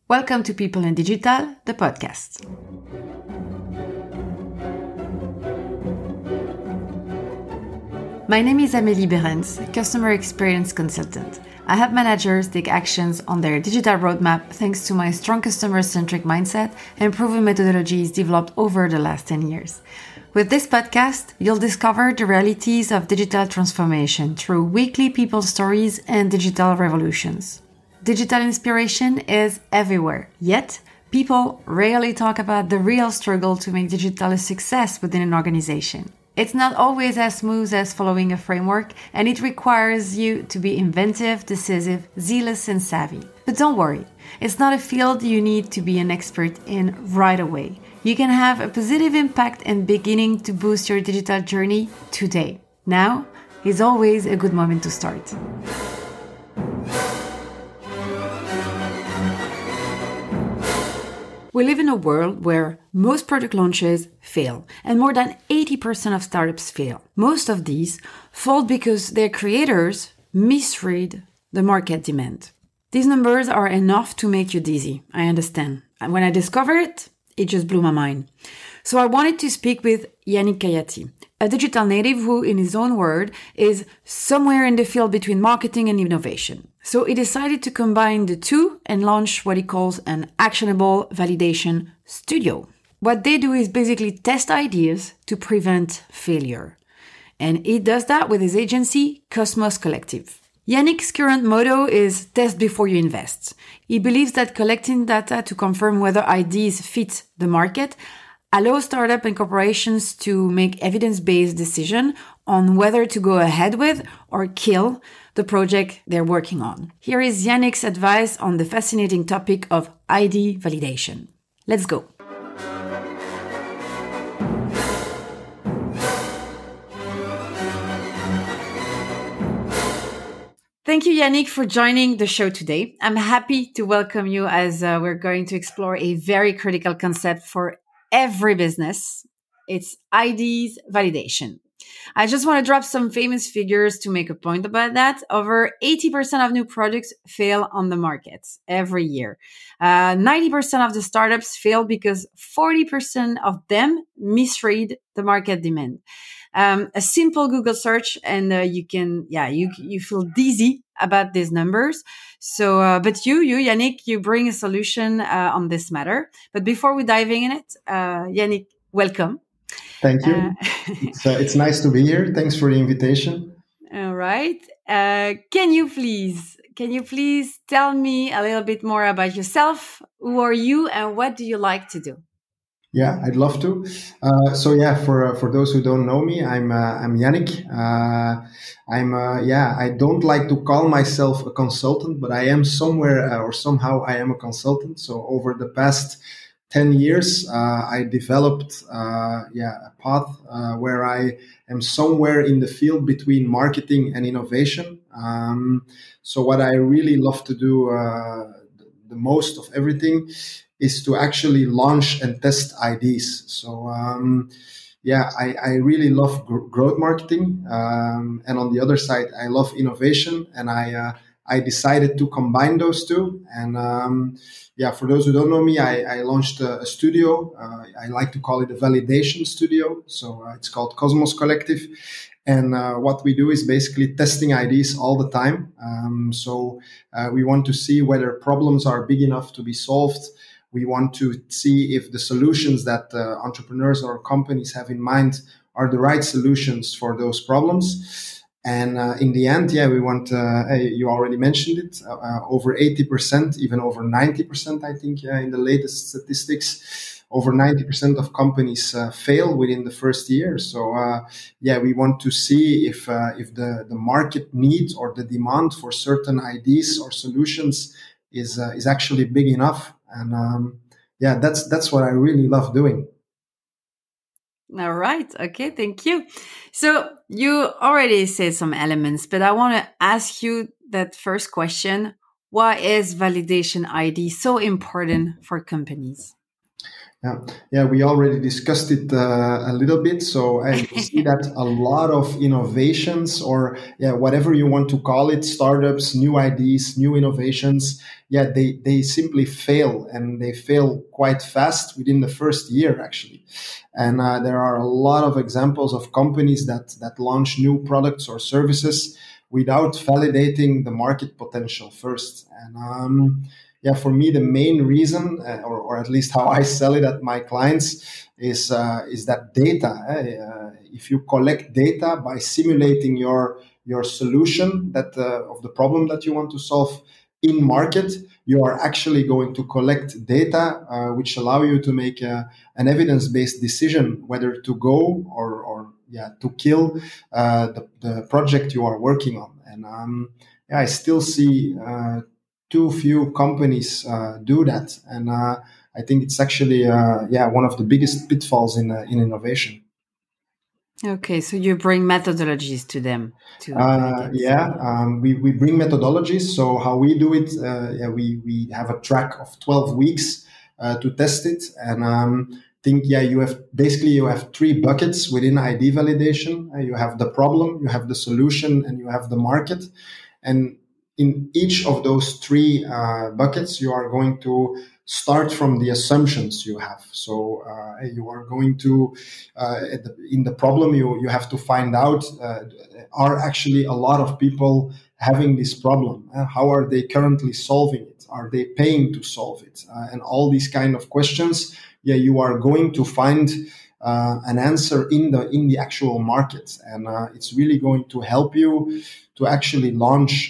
Welcome to People in Digital, the podcast. My name is Amélie Behrens, Customer Experience Consultant. I help managers take actions on their digital roadmap thanks to my strong customer-centric mindset and proven methodologies developed over the last 10 years. With this podcast, you'll discover the realities of digital transformation through weekly people stories and digital revolutions. Digital inspiration is everywhere, yet people rarely talk about the real struggle to make digital a success within an organization. It's not always as smooth as following a framework, and it requires you to be inventive, decisive, zealous, and savvy. But don't worry, it's not a field you need to be an expert in right away. You can have a positive impact and beginning to boost your digital journey today. Now is always a good moment to start. We live in a world where most product launches fail, and more than 80% of startups fail. Most of these fall because their creators misread the market demand. These numbers are enough to make you dizzy, I understand. And when I discovered it, it just blew my mind. So I wanted to speak with Yannick Khayati, a digital native who, in his own word, is somewhere in the field between marketing and innovation. So he decided to combine the two and launch what he calls an actionable validation studio. What they do is basically test ideas to prevent failure. And he does that with his agency, Cosmos Collective. Yannick's current motto is test before you invest. He believes that collecting data to confirm whether ideas fit the market allows startups and corporations to make evidence-based decisions on whether to go ahead with or kill the project they're working on. Here is Yannick's advice on the fascinating topic of ID validation. Let's go. Thank you, Yannick, for joining the show today. I'm happy to welcome you as we're going to explore a very critical concept for every business. It's IDs validation. I just want to drop some famous figures to make a point about that. Over 80% of new products fail on the market every year. 90% of the startups fail because 40% of them misread the market demand. A simple Google search and you feel dizzy about these numbers. So, but you, Yannick, you bring a solution on this matter. But before we diving in it, Yannick, welcome. Thank you. It's nice to be here. Thanks for the invitation. All right. Can you please tell me a little bit more about yourself? Who are you and what do you like to do? Yeah, I'd love to. For those who don't know me, I'm Yannick. I don't like to call myself a consultant, but I am somewhere or somehow I am a consultant. So over the past 10 years, I developed a path where I am somewhere in the field between marketing and innovation. So what I really love to do the most of everything is to actually launch and test IDs. So I really love growth marketing. And on the other side, I love innovation. And I decided to combine those two. And for those who don't know me, I launched a studio. I like to call it a validation studio. So it's called Cosmos Collective. And what we do is basically testing IDs all the time. We want to see whether problems are big enough to be solved. We want to see if the solutions that entrepreneurs or companies have in mind are the right solutions for those problems. And in the end, we want, you already mentioned it, over 80%, even over 90%, I think, in the latest statistics, over 90% of companies fail within the first year. So, we want to see if the market need or the demand for certain IDs or solutions is actually big enough. And that's what I really love doing. All right. Okay. Thank you. So you already said some elements, but I want to ask you that first question. Why is validation ID so important for companies? Yeah, yeah, we already discussed it a little bit. So you see that a lot of innovations, or yeah, whatever you want to call it, startups, new ideas, new innovations, yeah, they simply fail, and they fail quite fast within the first year, actually. And there are a lot of examples of companies that launch new products or services without validating the market potential first. And yeah, for me, the main reason, or at least how I sell it at my clients, is that data. If you collect data by simulating your solution that of the problem that you want to solve in market, you are actually going to collect data which allow you to make an evidence-based decision whether to go or yeah, to kill the project you are working on. And yeah, I still see too few companies do that, and I think it's actually yeah, one of the biggest pitfalls in innovation. Okay, so you bring methodologies to them to validate. Yeah, we bring methodologies. So how we do it, yeah, we have a track of 12 weeks to test it. And think, yeah, you have three buckets within ID validation. You have the problem, you have the solution, and you have the market. And in each of those three buckets, you are going to start from the assumptions you have. So you are going to, in the problem, you have to find out, are actually a lot of people having this problem? How are they currently solving it? Are they paying to solve it? And all these kind of questions, yeah, you are going to find an answer in the actual market, and it's really going to help you to actually launch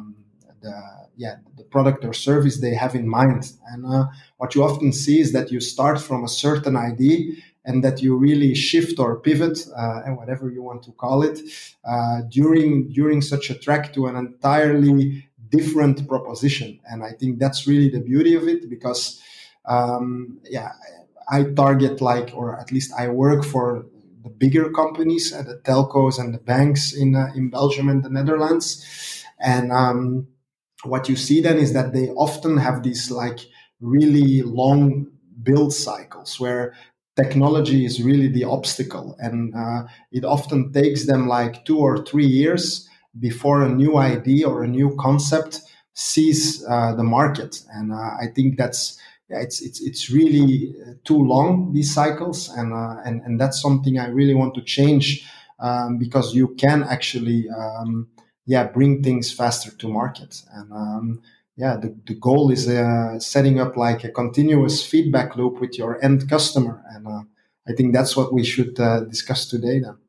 the product or service they have in mind. And what you often see is that you start from a certain idea, and that you really shift or pivot, and whatever you want to call it, during such a track to an entirely different proposition. And I think that's really the beauty of it, because yeah, I target, like, or at least I work for the bigger companies, the telcos and the banks in Belgium and the Netherlands. And what you see then is that they often have these like really long build cycles where technology is really the obstacle, and it often takes them like 2 or 3 years before a new idea or a new concept sees the market. And I think that's, yeah, it's really too long, these cycles, and that's something I really want to change, because you can actually yeah, bring things faster to market. And yeah, the goal is setting up like a continuous feedback loop with your end customer, and I think that's what we should discuss today then.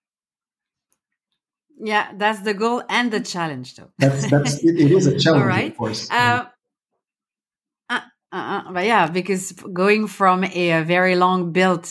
Yeah, that's the goal and the challenge, though. That's it is a challenge, All right. of course. But yeah, because going from a very long build,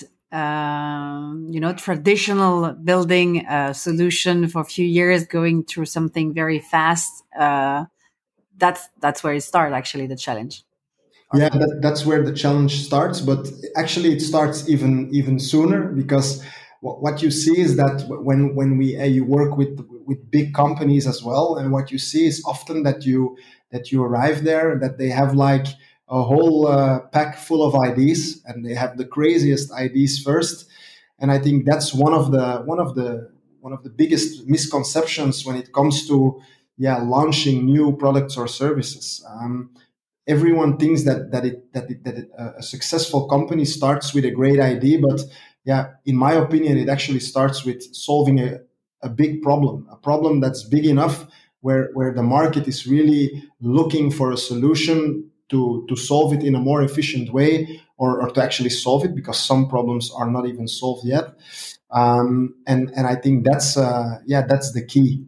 traditional building solution for a few years, going through something very fast, that's where it starts, actually, the challenge. Yeah, that's where the challenge starts, but actually it starts even sooner, because what you see is that when you work with big companies as well, and what you see is often that you arrive there, that they have like a whole pack full of ideas, and they have the craziest ideas first. And I think that's one of the biggest misconceptions when it comes to, yeah, launching new products or services. Everyone thinks that a successful company starts with a great idea, but yeah, in my opinion, it actually starts with solving a big problem, a problem that's big enough where the market is really looking for a solution to solve it in a more efficient way, or to actually solve it, because some problems are not even solved yet. And I think that's that's the key.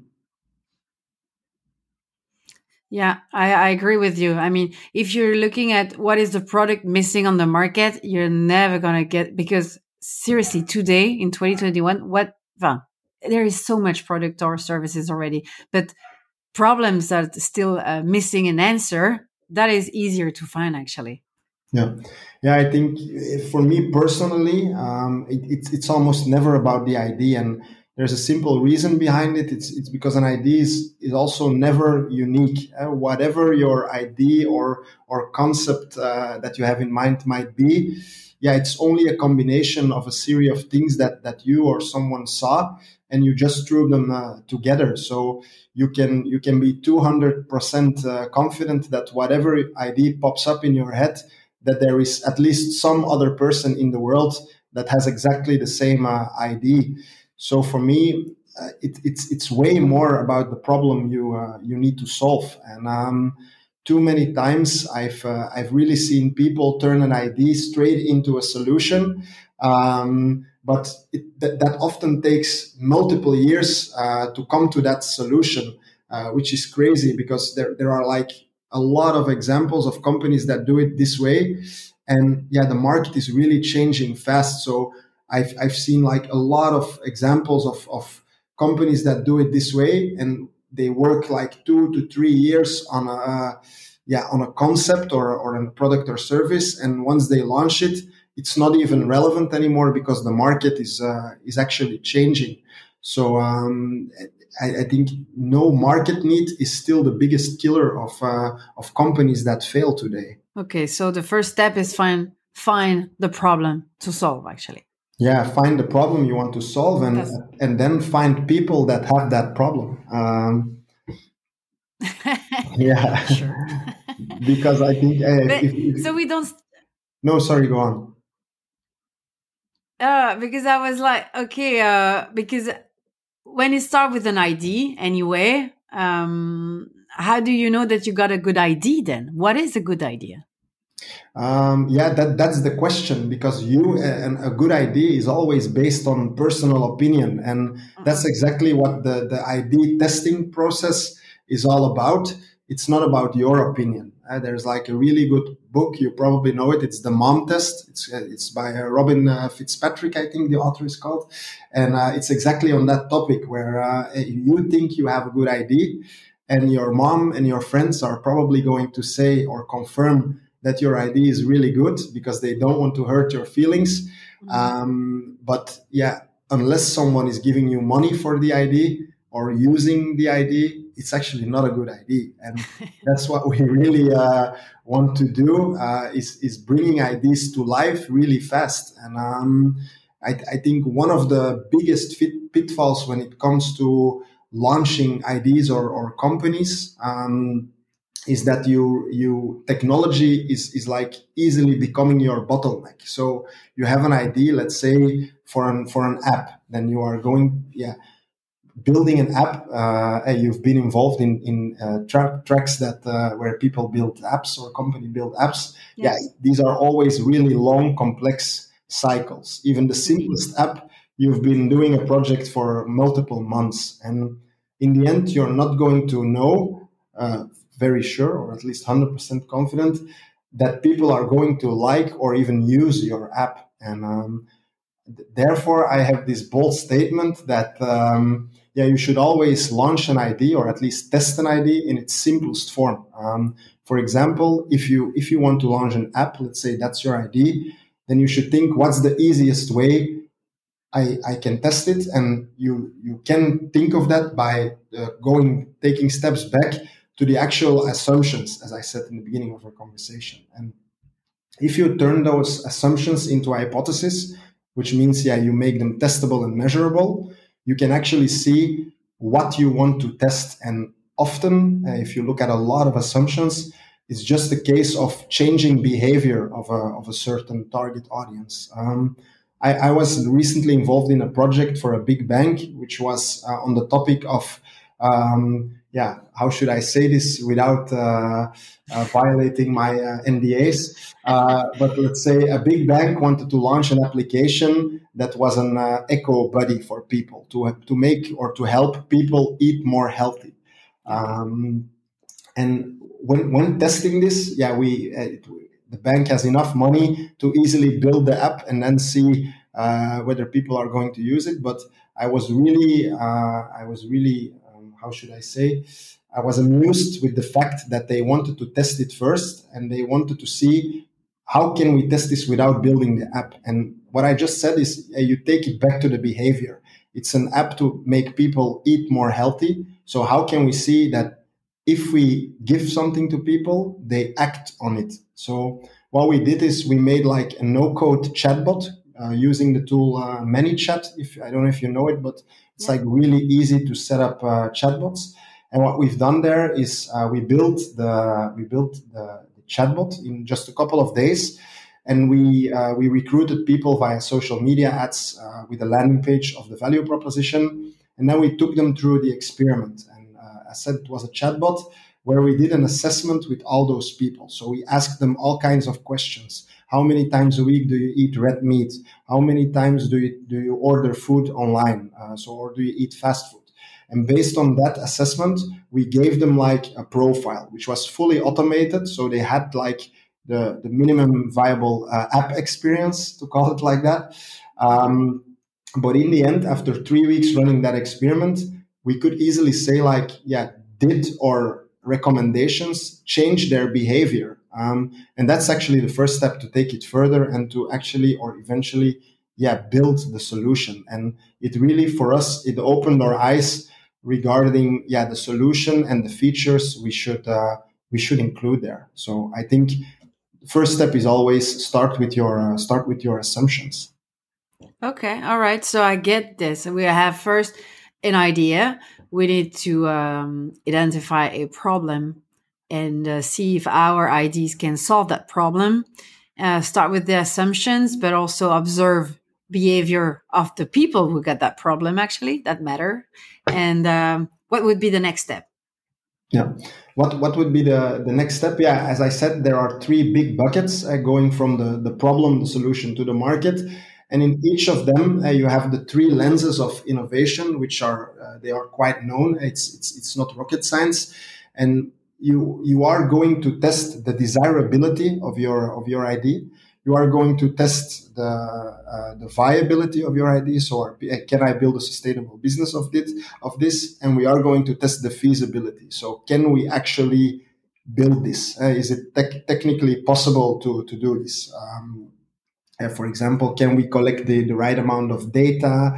Yeah, I agree with you. I mean, if you're looking at what is the product missing on the market, you're never going to get, because seriously, today in 2021, there is so much product or services already, but problems that are still missing an answer, that is easier to find, actually. Yeah, yeah. I think for me personally, it's almost never about the idea, and there's a simple reason behind it. It's because an idea is also never unique. Whatever your idea or concept that you have in mind might be, yeah, it's only a combination of a series of things that you or someone saw, and you just threw them together. So you can be 200% confident that whatever idea pops up in your head, that there is at least some other person in the world that has exactly the same idea. So for me, it's way more about the problem you need to solve. And too many times I've really seen people turn an idea straight into a solution, but that often takes multiple years to come to that solution, which is crazy because there are like a lot of examples of companies that do it this way. And yeah, the market is really changing fast. So I've seen like a lot of examples of companies that do it this way, and they work like 2 to 3 years on a concept or a product or service. And once they launch it, it's not even relevant anymore because the market is actually changing. So I think no market need is still the biggest killer of companies that fail today. Okay, so the first step is find the problem to solve, actually. Yeah, find the problem you want to solve, and then find people that have that problem. Yeah, Sure. because I think so we don't. No, sorry, go on. Because I was like, okay, because when you start with an idea anyway, how do you know that you got a good idea then? What is a good idea? Yeah, that's the question, because a good idea is always based on personal opinion, and that's exactly what the idea testing process is all about. It's not about your opinion. There's like a really good book, you probably know it. It's the Mom Test. It's by Robin Fitzpatrick, I think the author is called, and it's exactly on that topic where you think you have a good idea, and your mom and your friends are probably going to say or confirm that your idea is really good because they don't want to hurt your feelings. But yeah, unless someone is giving you money for the idea or using the idea, it's actually not a good idea. And that's what we really want to do, is bringing ideas to life really fast. And I think one of the biggest pitfalls when it comes to launching ideas or companies, is that you technology is like easily becoming your bottleneck. So you have an idea, let's say for an app, then you are building an app. You've been involved in tracks that where people build apps or company build apps. Yes. Yeah, these are always really long, complex cycles. Even the simplest app, you've been doing a project for multiple months, and in the end, you're not going to know. Very sure, or at least 100% confident, that people are going to like or even use your app. And therefore, I have this bold statement that you should always launch an idea, or at least test an idea in its simplest form. For example, if you want to launch an app, let's say that's your idea, then you should think, what's the easiest way I can test it? And you can think of that by taking steps back to the actual assumptions, as I said in the beginning of our conversation. And if you turn those assumptions into a hypothesis, which means, you make them testable and measurable, you can actually see what you want to test. And often, if you look at a lot of assumptions, it's just a case of changing behavior of a certain target audience. I was recently involved in a project for a big bank, which was on the topic of how should I say this without violating my NDAs? But let's say a big bank wanted to launch an application that was an eco buddy for people to make or to help people eat more healthy. And when testing this, the bank has enough money to easily build the app and then see whether people are going to use it. But I was really how should I say? I was amused with the fact that they wanted to test it first, and they wanted to see how can we test this without building the app. And what I just said is you take it back to the behavior. It's an app to make people eat more healthy. So how can we see that if we give something to people, they act on it? So what we did is we made like a no-code chatbot using the tool ManyChat. If I don't know if you know it, but it's like really easy to set up chatbots. And what we've done there is we built the chatbot in just a couple of days, and we recruited people via social media ads with a landing page of the value proposition, and then we took them through the experiment. And I said it was a chatbot where we did an assessment with all those people. So we asked them all kinds of questions. How many times a week do you eat red meat? How many times do you order food online? Or do you eat fast food? And based on that assessment, we gave them like a profile, which was fully automated. So they had like the minimum viable app experience, to call it like that. But in the end, after 3 weeks running that experiment, we could easily say like, yeah, did our recommendations change their behavior? And that's actually the first step to take it further and to actually or eventually, build the solution. And it really, for us, it opened our eyes regarding the solution and the features we should include there. So I think the first step is always start with your assumptions. Okay, all right. So I get this. We have first an idea. We need to identify a problem and see if our IDs can solve that problem. Start with the assumptions, but also observe behavior of the people who got that problem, actually, that matter. And what would be the next step? Yeah. What would be the next step? Yeah, as I said, there are three big buckets going from the problem, the solution to the market. And in each of them, you have the three lenses of innovation, which are they are quite known. It's not rocket science, and you are going to test the desirability of your ID. You are going to test the viability of your ID. So, can I build a sustainable business of this? And we are going to test the feasibility. So, can we actually build this? Is it technically possible to do this? For example, can we collect the right amount of data?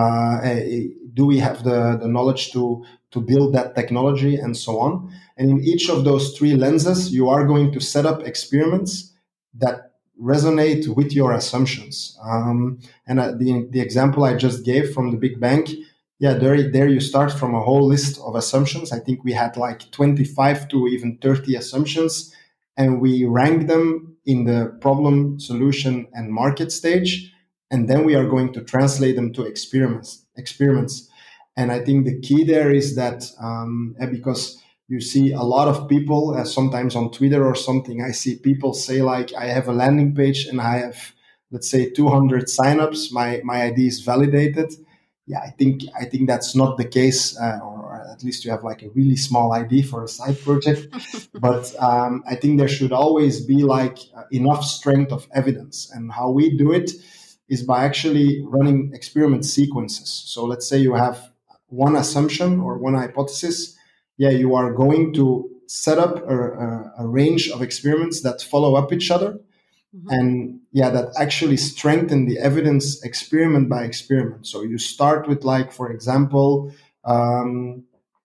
Do we have the knowledge to build that technology and so on? And in each of those three lenses, you are going to set up experiments that resonate with your assumptions. And the example I just gave from the big bank, there you start from a whole list of assumptions. I think we had like 25 to even 30 assumptions, and we rank them in the problem, solution, and market stage. And then we are going to translate them to experiments. And I think the key there is that because you see a lot of people, sometimes on Twitter or something, I see people say like, I have a landing page and I have, let's say, 200 signups. My ID is validated. Yeah, I think that's not the case, or at least you have like a really small ID for a side project. But I think there should always be like enough strength of evidence. And how we do it is by actually running experiment sequences. So let's say you have one assumption or one hypothesis. Yeah, you are going to set up a range of experiments that follow up each other. Mm-hmm. And that actually strengthen the evidence experiment by experiment. So you start with, like, for example, a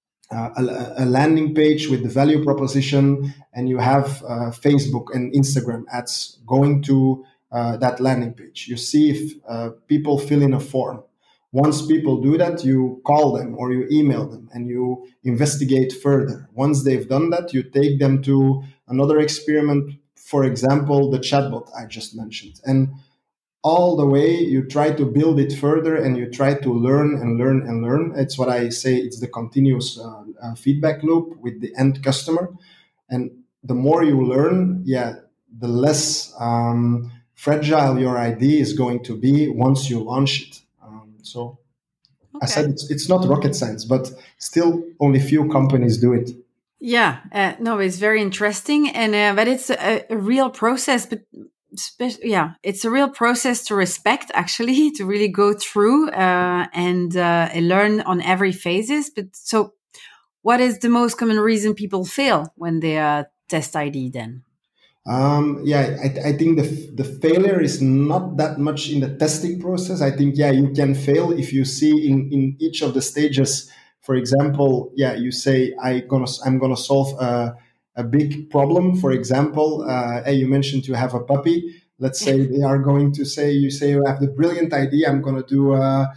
landing page with the value proposition, and you have Facebook and Instagram ads going to that landing page. You see if people fill in a form. Once people do that, you call them or you email them and you investigate further. Once they've done that, you take them to another experiment, for example, the chatbot I just mentioned. And all the way you try to build it further and you try to learn and learn and learn. It's what I say, it's the continuous feedback loop with the end customer. And the more you learn, the less fragile your idea is going to be once you launch it. So okay. I said it's not rocket science, but still only few companies do it. Yeah, no, it's very interesting, and but it's a real process. But it's a real process to respect, actually, to really go through and learn on every phases. But so, what is the most common reason people fail when they test ID then? I think the failure is not that much in the testing process. I think, you can fail if you see in each of the stages. For example, you say I'm gonna solve a a big problem. For example, hey, you mentioned you have a puppy. Let's say they are going to say, you say you have the brilliant idea, I'm going to do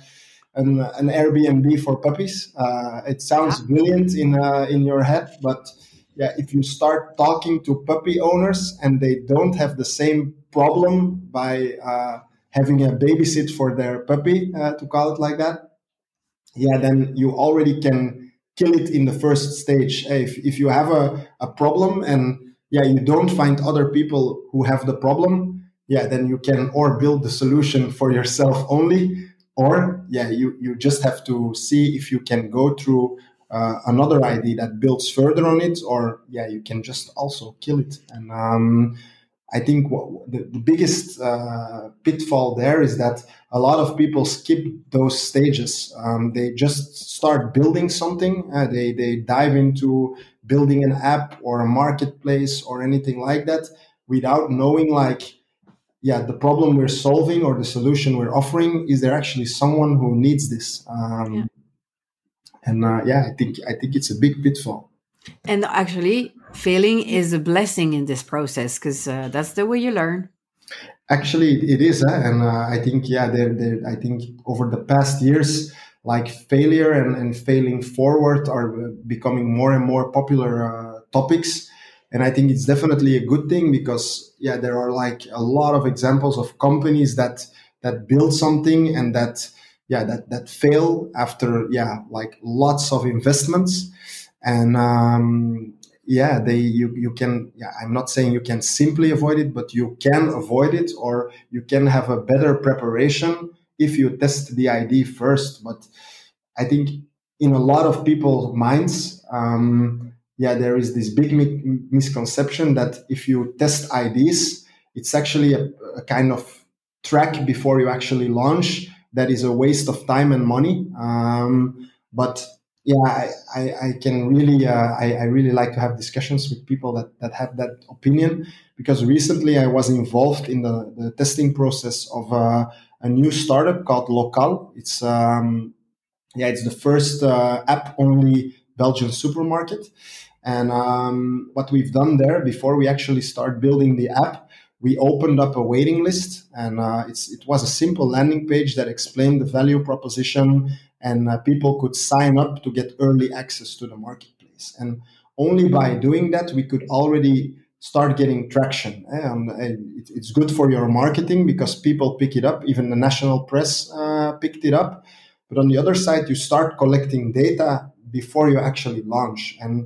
an Airbnb for puppies. It sounds brilliant in your head, but yeah, if you start talking to puppy owners and they don't have the same problem by having a babysit for their puppy, to call it like that, yeah, then you already can kill it in the first stage. If you have a problem and yeah, you don't find other people who have the problem, yeah, then you can or build the solution for yourself only, or yeah, you just have to see if you can go through another idea that builds further on it, or yeah, you can just also kill it. And I think the biggest pitfall there is that a lot of people skip those stages. They just start building something. They dive into building an app or a marketplace or anything like that without knowing, like, yeah, the problem we're solving or the solution we're offering, is there actually someone who needs this? And yeah, I think it's a big pitfall. And actually, failing is a blessing in this process, because that's the way you learn. Actually, it is, and I think yeah, I think over the past years, like failure and failing forward are becoming more and more popular topics, and I think it's definitely a good thing, because yeah, there are like a lot of examples of companies that build something and that fail after like lots of investments. And yeah, you can, yeah, I'm not saying you can simply avoid it, but you can avoid it, or you can have a better preparation if you test the idea first. But I think in a lot of people's minds, yeah, there is this big misconception that if you test ideas, it's actually a kind of track before you actually launch that is a waste of time and money. But yeah, I can really, I really like to have discussions with people that have that opinion, because recently I was involved in the testing process of a new startup called Local. It's it's the first app-only Belgian supermarket. And what we've done there, before we actually start building the app, we opened up a waiting list, and it was a simple landing page that explained the value proposition, and people could sign up to get early access to the marketplace. And only by doing that, we could already start getting traction. And it's good for your marketing because people pick it up. Even the national press picked it up. But on the other side, you start collecting data before you actually launch. And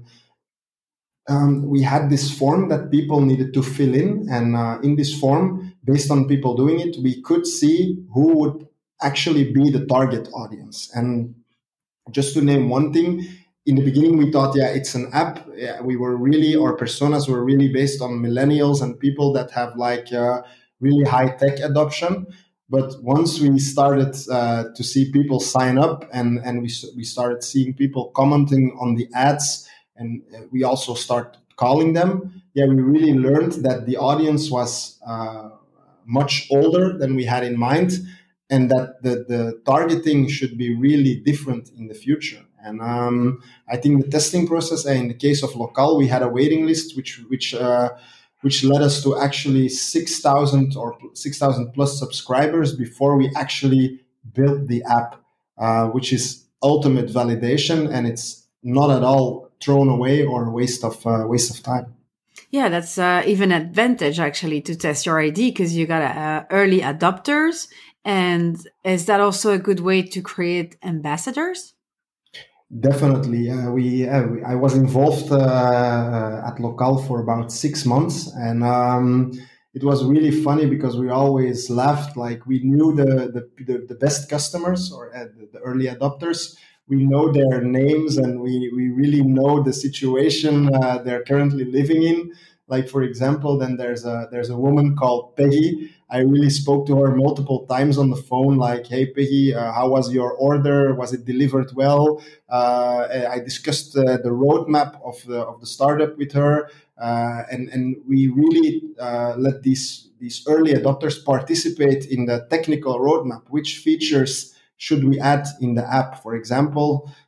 we had this form that people needed to fill in. And in this form, based on people doing it, we could see who would actually be the target audience. And just to name one thing, in the beginning, we thought, yeah, it's an app. Yeah, our personas were really based on millennials and people that have like really high tech adoption. But once we started to see people sign up, and we started seeing people commenting on the ads, and we also start calling them, yeah, we really learned that the audience was much older than we had in mind, and that the targeting should be really different in the future. And I think the testing process, in the case of Local, we had a waiting list which led us to actually 6,000 or 6,000 plus subscribers before we actually built the app, which is ultimate validation, and it's not at all thrown away or waste of time. Yeah, that's even an advantage actually to test your ID, because you got early adopters. And is that also a good way to create ambassadors? Definitely. I was involved at Local for about 6 months, and it was really funny because we always laughed. Like, we knew the best customers, or the early adopters. We know their names, and we really know the situation they're currently living in. Like, for example, then there's a woman called Peggy. I really spoke to her multiple times on the phone, like, "Hey, Peggy, how was your order? Was it delivered well?" I discussed the roadmap of the startup with her, and we really let these early adopters participate in the technical roadmap. Which features should we add in the app? For example,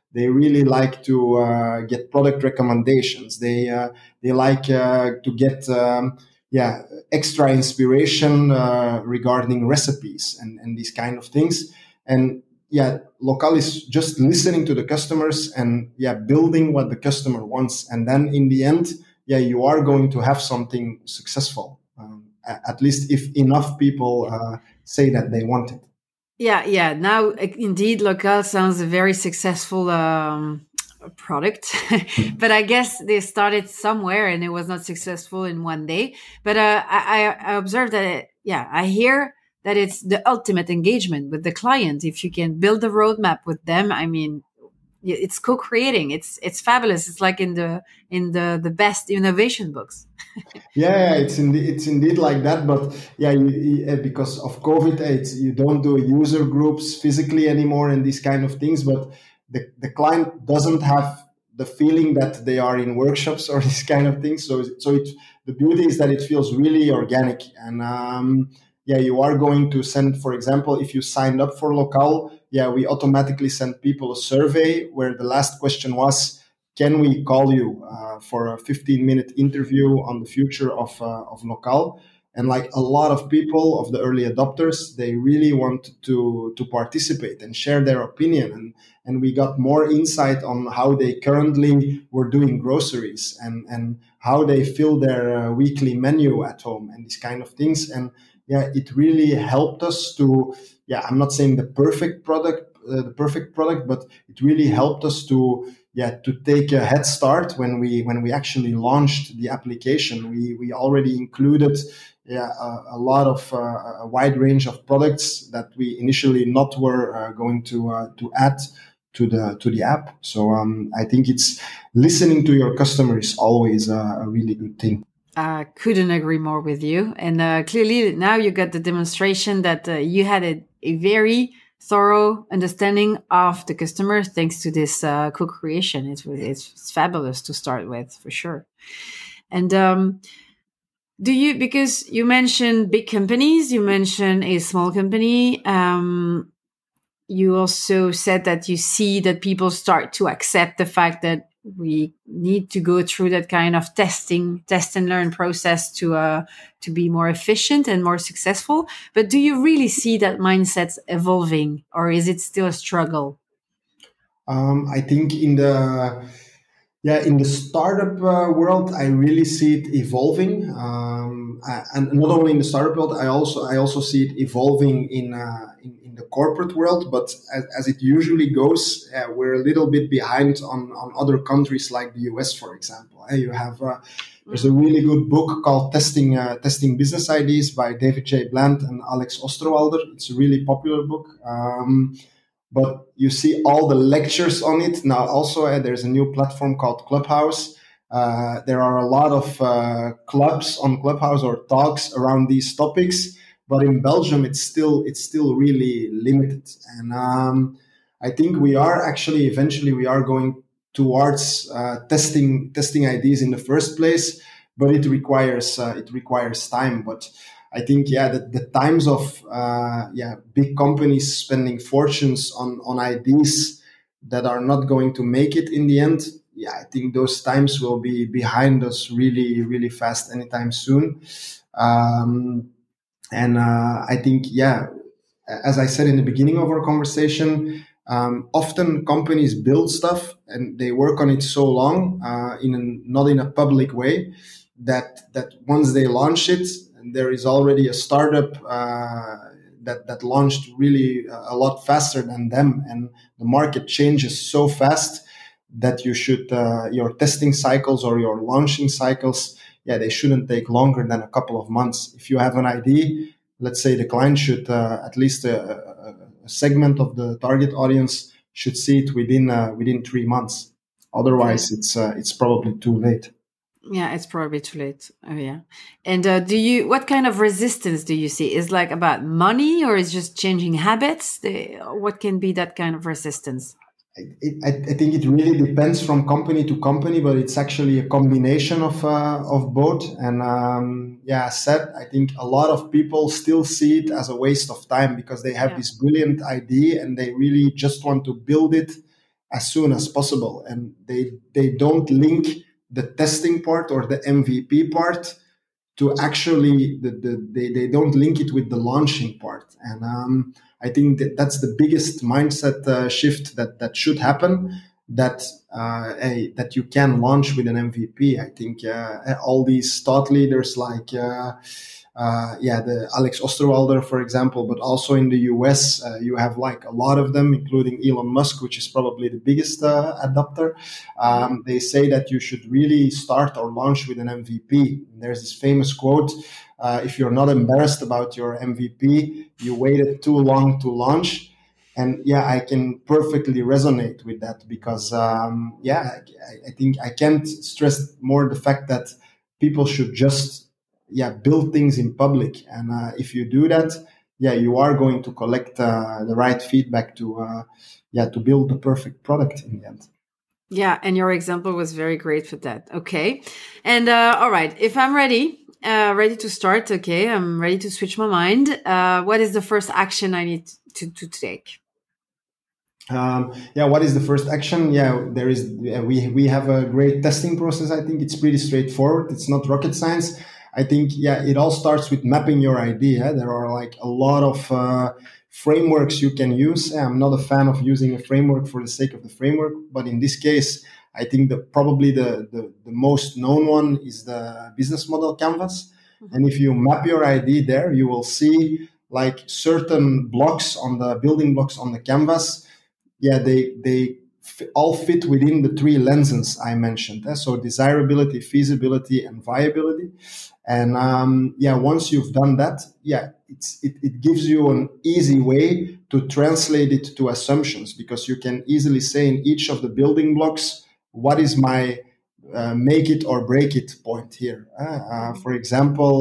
They really like to get product recommendations. They like to get extra inspiration regarding recipes and these kind of things. And Local is just listening to the customers and building what the customer wants. And then in the end, you are going to have something successful. At least if enough people say that they want it. Yeah. Now, indeed, Local sounds a very successful product, but I guess they started somewhere and it was not successful in one day. But I observed that, I hear that it's the ultimate engagement with the client. If you can build a roadmap with them, I mean, it's co-creating. It's fabulous. It's like in the best innovation books. It's indeed like that. But because of COVID, you don't do user groups physically anymore and these kind of things. But the client doesn't have the feeling that they are in workshops or these kind of things. The beauty is that it feels really organic. And you are going to send, for example, if you signed up for Local, we automatically send people a survey where the last question was, can we call you for a 15-minute interview on the future of Local? And like a lot of people, of the early adopters, they really want to participate and share their opinion. And we got more insight on how they currently were doing groceries and how they fill their weekly menu at home and these kind of things. And it really helped us to, I'm not saying the perfect product, but it really helped us to take a head start when we actually launched the application. We already included a lot of a wide range of products that we initially not were going to add to the app. So I think it's listening to your customer is always a really good thing. Couldn't agree more with you. And clearly now you got the demonstration that you had a very thorough understanding of the customer thanks to this co-creation. It's fabulous to start with, for sure. And because you mentioned big companies, you mentioned a small company, you also said that you see that people start to accept the fact that we need to go through that kind of test and learn process to be more efficient and more successful. But do you really see that mindset evolving, or is it still a struggle? I think in the startup world, I really see it evolving, and not only in the startup world, I also see it evolving in the corporate world. But as it usually goes, we're a little bit behind on other countries like the US, for example. You have there's a really good book called Testing Business Ideas by David J. Bland and Alex Osterwalder. It's a really popular book. But you see all the lectures on it. Now also there's a new platform called Clubhouse. There are a lot of clubs on Clubhouse or talks around these topics. But in Belgium, it's still really limited. And I think we are actually eventually we are going towards testing ideas in the first place. But it requires time. But I think the times of big companies spending fortunes on ideas that are not going to make it in the end. I think those times will be behind us really, really fast anytime soon. And I think as I said in the beginning of our conversation, often companies build stuff and they work on it so long not in a public way that once they launch it, there is already a startup that launched really a lot faster than them, and the market changes so fast that you should your testing cycles or your launching cycles, they shouldn't take longer than a couple of months. If you have an idea, let's say the client should at least a segment of the target audience should see it within 3 months. Otherwise, it's probably too late. Yeah, it's probably too late. Oh, yeah. And what kind of resistance do you see? Is like about money, or is just changing habits? What can be that kind of resistance? I think it really depends from company to company, but it's actually a combination of both. And as said, I think a lot of people still see it as a waste of time because they have this brilliant idea and they really just want to build it as soon as possible, and they don't link the testing part or the MVP part to actually they don't link it with the launching part. And I think that's the biggest mindset shift that should happen, that that you can launch with an MVP. I think all these thought leaders like the Alex Osterwalder, for example, but also in the US, you have like a lot of them, including Elon Musk, which is probably the biggest adopter. They say that you should really start or launch with an MVP. There's this famous quote: if you're not embarrassed about your MVP, you waited too long to launch. And yeah, I can perfectly resonate with that, because I think I can't stress more the fact that people should just build things in public. And if you do that, you are going to collect the right feedback to build the perfect product in the end. Yeah, and your example was very great for that. Okay, and all right, if I'm ready to start, okay, I'm ready to switch my mind. What is the first action I need to take? What is the first action? There is. We have a great testing process. I think it's pretty straightforward. It's not rocket science. I think, it all starts with mapping your idea. There are like a lot of frameworks you can use. I'm not a fan of using a framework for the sake of the framework, but in this case, I think probably the most known one is the business model canvas. Mm-hmm. And if you map your idea there, you will see like certain blocks on the building blocks on the canvas. They all fit within the three lenses I mentioned. So desirability, feasibility, and viability. And once you've done that, it gives you an easy way to translate it to assumptions, because you can easily say in each of the building blocks, what is my make it or break it point here? For example,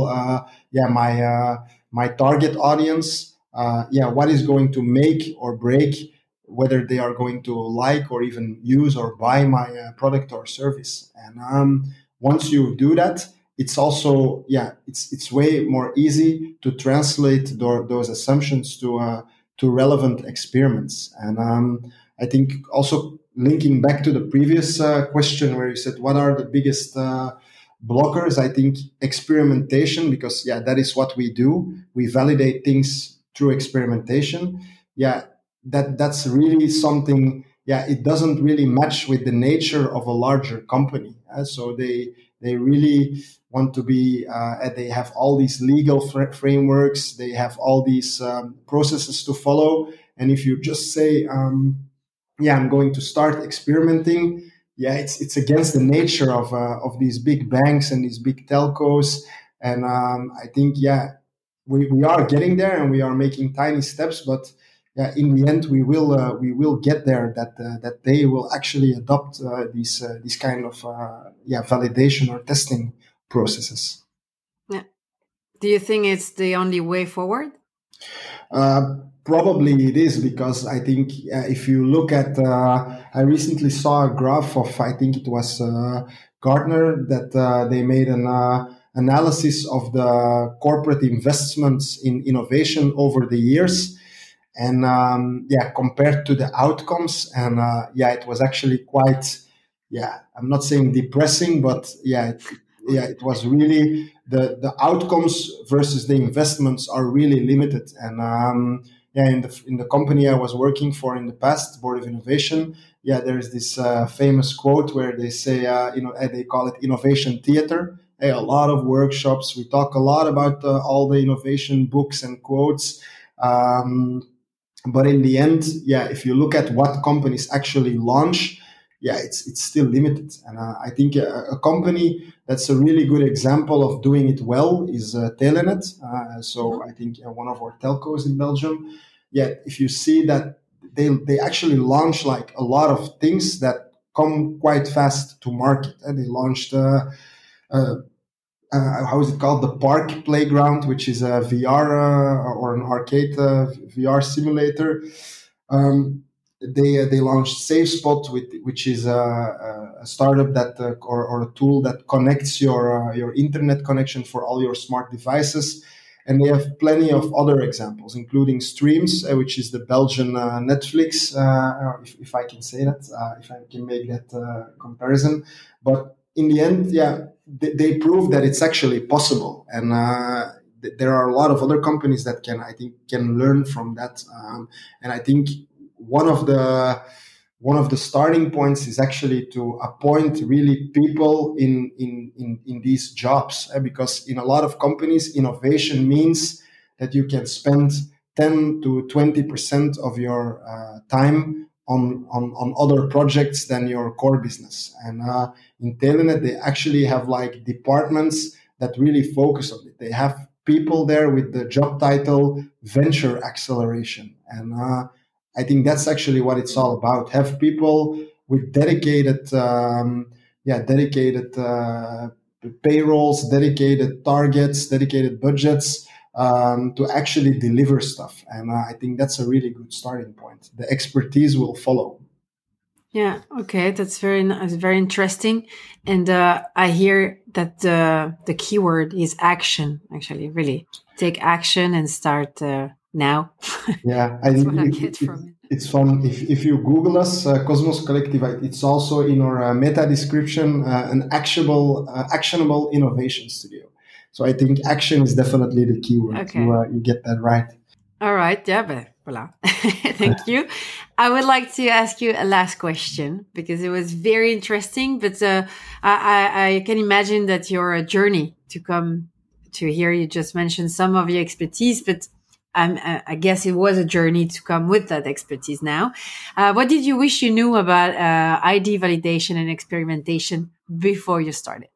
my target audience, what is going to make or break whether they are going to like or even use or buy my product or service. And once you do that, it's also, it's way more easy to translate those assumptions to relevant experiments. And I think also linking back to the previous question where you said, what are the biggest blockers? I think experimentation, because that is what we do. We validate things through experimentation. That's really something. It doesn't really match with the nature of a larger company. So they really want to be. They have all these legal frameworks. They have all these processes to follow. And if you just say, I'm going to start experimenting, it's against the nature of these big banks and these big telcos. And I think we are getting there, and we are making tiny steps, but in the end, we will get there. That they will actually adopt these kind of validation or testing processes. Yeah. Do you think it's the only way forward? Probably it is, because I think if you look at, I recently saw a graph of, I think it was Gartner, that they made an analysis of the corporate investments in innovation over the years. And compared to the outcomes, and it was actually quite, I'm not saying depressing, but it was really the outcomes versus the investments are really limited. And in the company I was working for in the past, Board of Innovation, there's this famous quote where they say, they call it innovation theater. A lot of workshops. We talk a lot about all the innovation books and quotes. But in the end, if you look at what companies actually launch, it's still limited. And I think a company that's a really good example of doing it well is Telenet. So I think one of our telcos in Belgium. If you see that they actually launch like a lot of things that come quite fast to market. And they launched how is it called? The Park Playground, which is a VR or an arcade VR simulator. They launched SafeSpot, which is a startup that or a tool that connects your internet connection for all your smart devices. And they have plenty of other examples, including Streams, which is the Belgian Netflix, if I can say that, if I can make that comparison. But in the end, they prove that it's actually possible. And there are a lot of other companies that can learn from that. And I think one of the starting points is actually to appoint really people in these jobs, because in a lot of companies, innovation means that you can spend 10 to 20% of your time on other projects than your core business. And in Telenet, they actually have like departments that really focus on it. They have people there with the job title venture acceleration. And I think that's actually what it's all about. Have people with dedicated payrolls, dedicated targets, dedicated budgets to actually deliver stuff. And I think that's a really good starting point. The expertise will follow. Yeah. Okay. That's very interesting. And I hear that the keyword is action. Actually, really take action and start now. Yeah, That's what I get from it. It's fun. If you Google us, Cosmos Collective, it's also in our meta description, an actionable innovation studio. So I think action is definitely the keyword. Okay. You get that right. All right. Yeah, but voila. Thank you. I would like to ask you a last question because it was very interesting, but I can imagine that your journey to come to here, you just mentioned some of your expertise, but I guess it was a journey to come with that expertise now. What did you wish you knew about ID validation and experimentation before you started?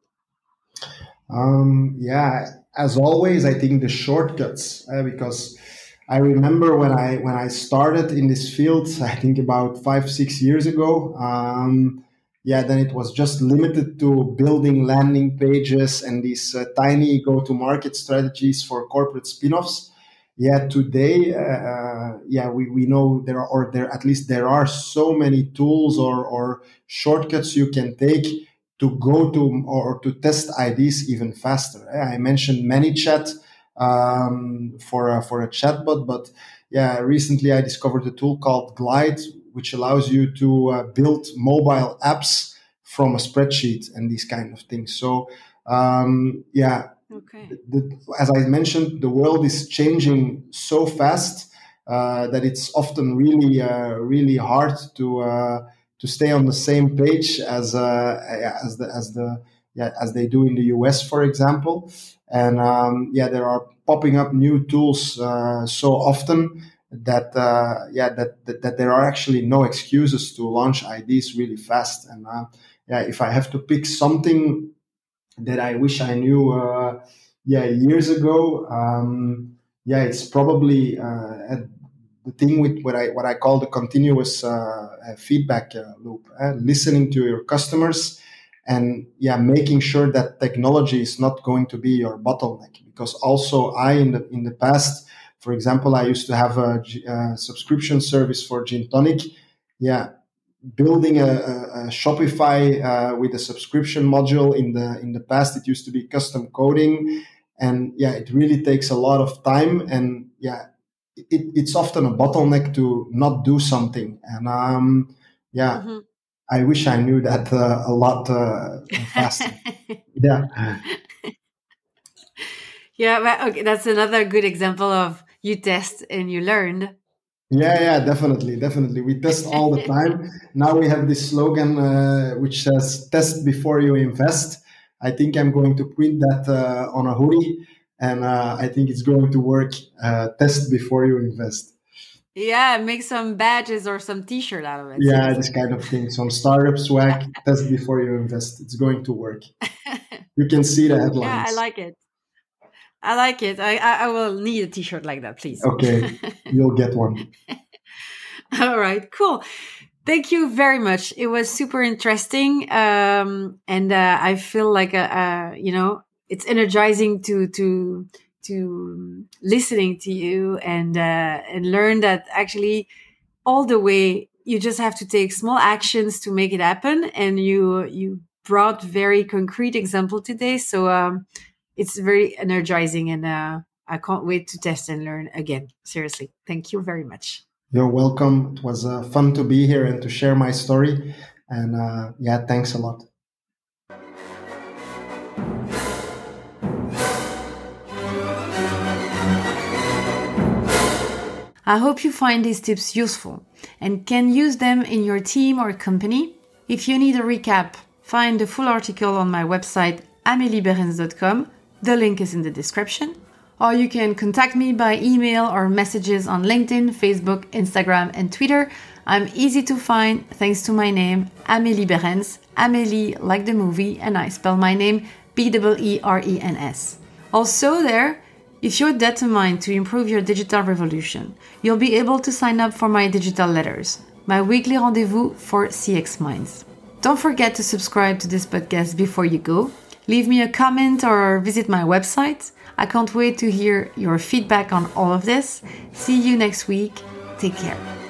As always, I think the shortcuts, because I remember when I started in this field, I think about 5-6 years ago. Then it was just limited to building landing pages and these tiny go-to-market strategies for corporate spin-offs. Today, we know there are so many tools or shortcuts you can take to go to or to test IDs even faster. I mentioned ManyChat for a chatbot, but recently I discovered a tool called Glide, which allows you to build mobile apps from a spreadsheet and these kind of things. So Okay. As I mentioned, the world is changing so fast that it's often really hard to stay on the same page as they do in the US, for example. And there are popping up new tools so often that there are actually no excuses to launch IDs really fast. And if I have to pick something that I wish I knew years ago, it's probably the thing with what I call the continuous feedback loop, listening to your customers and making sure that technology is not going to be your bottleneck. Because also in the past, for example, I used to have a subscription service for Gin Tonic. Building a Shopify with a subscription module in the past, it used to be custom coding, and it really takes a lot of time, and it's often a bottleneck to not do something. And Mm-hmm. I wish I knew that a lot faster. But okay, that's another good example of you test and you learned. Definitely. We test all the time. Now we have this slogan which says "Test before you invest." I think I'm going to print that on a hoodie, and I think it's going to work. Test before you invest. Make some badges or some T-shirt out of it. This kind of thing. Some startup swag. Test before you invest. It's going to work. You can see the headlines. Yeah, I like it. I will need a T-shirt like that, please. Okay, you'll get one. All right, cool. Thank you very much. It was super interesting, and I feel like it's energizing to listening to you and learn that actually all the way you just have to take small actions to make it happen, and you brought very concrete example today, so it's very energizing, and I can't wait to test and learn again. Seriously. Thank you very much. You're welcome. It was fun to be here and to share my story. And thanks a lot. I hope you find these tips useful and can use them in your team or company. If you need a recap, find the full article on my website, amelieberens.com. The link is in the description. Or you can contact me by email or messages on LinkedIn, Facebook, Instagram, and Twitter. I'm easy to find thanks to my name, Amélie Berens. Amélie like the movie, and I spell my name Berens. Also there, if you're determined to improve your digital revolution, you'll be able to sign up for my digital letters, my weekly rendezvous for CX Minds. Don't forget to subscribe to this podcast before you go. Leave me a comment or visit my website. I can't wait to hear your feedback on all of this. See you next week. Take care.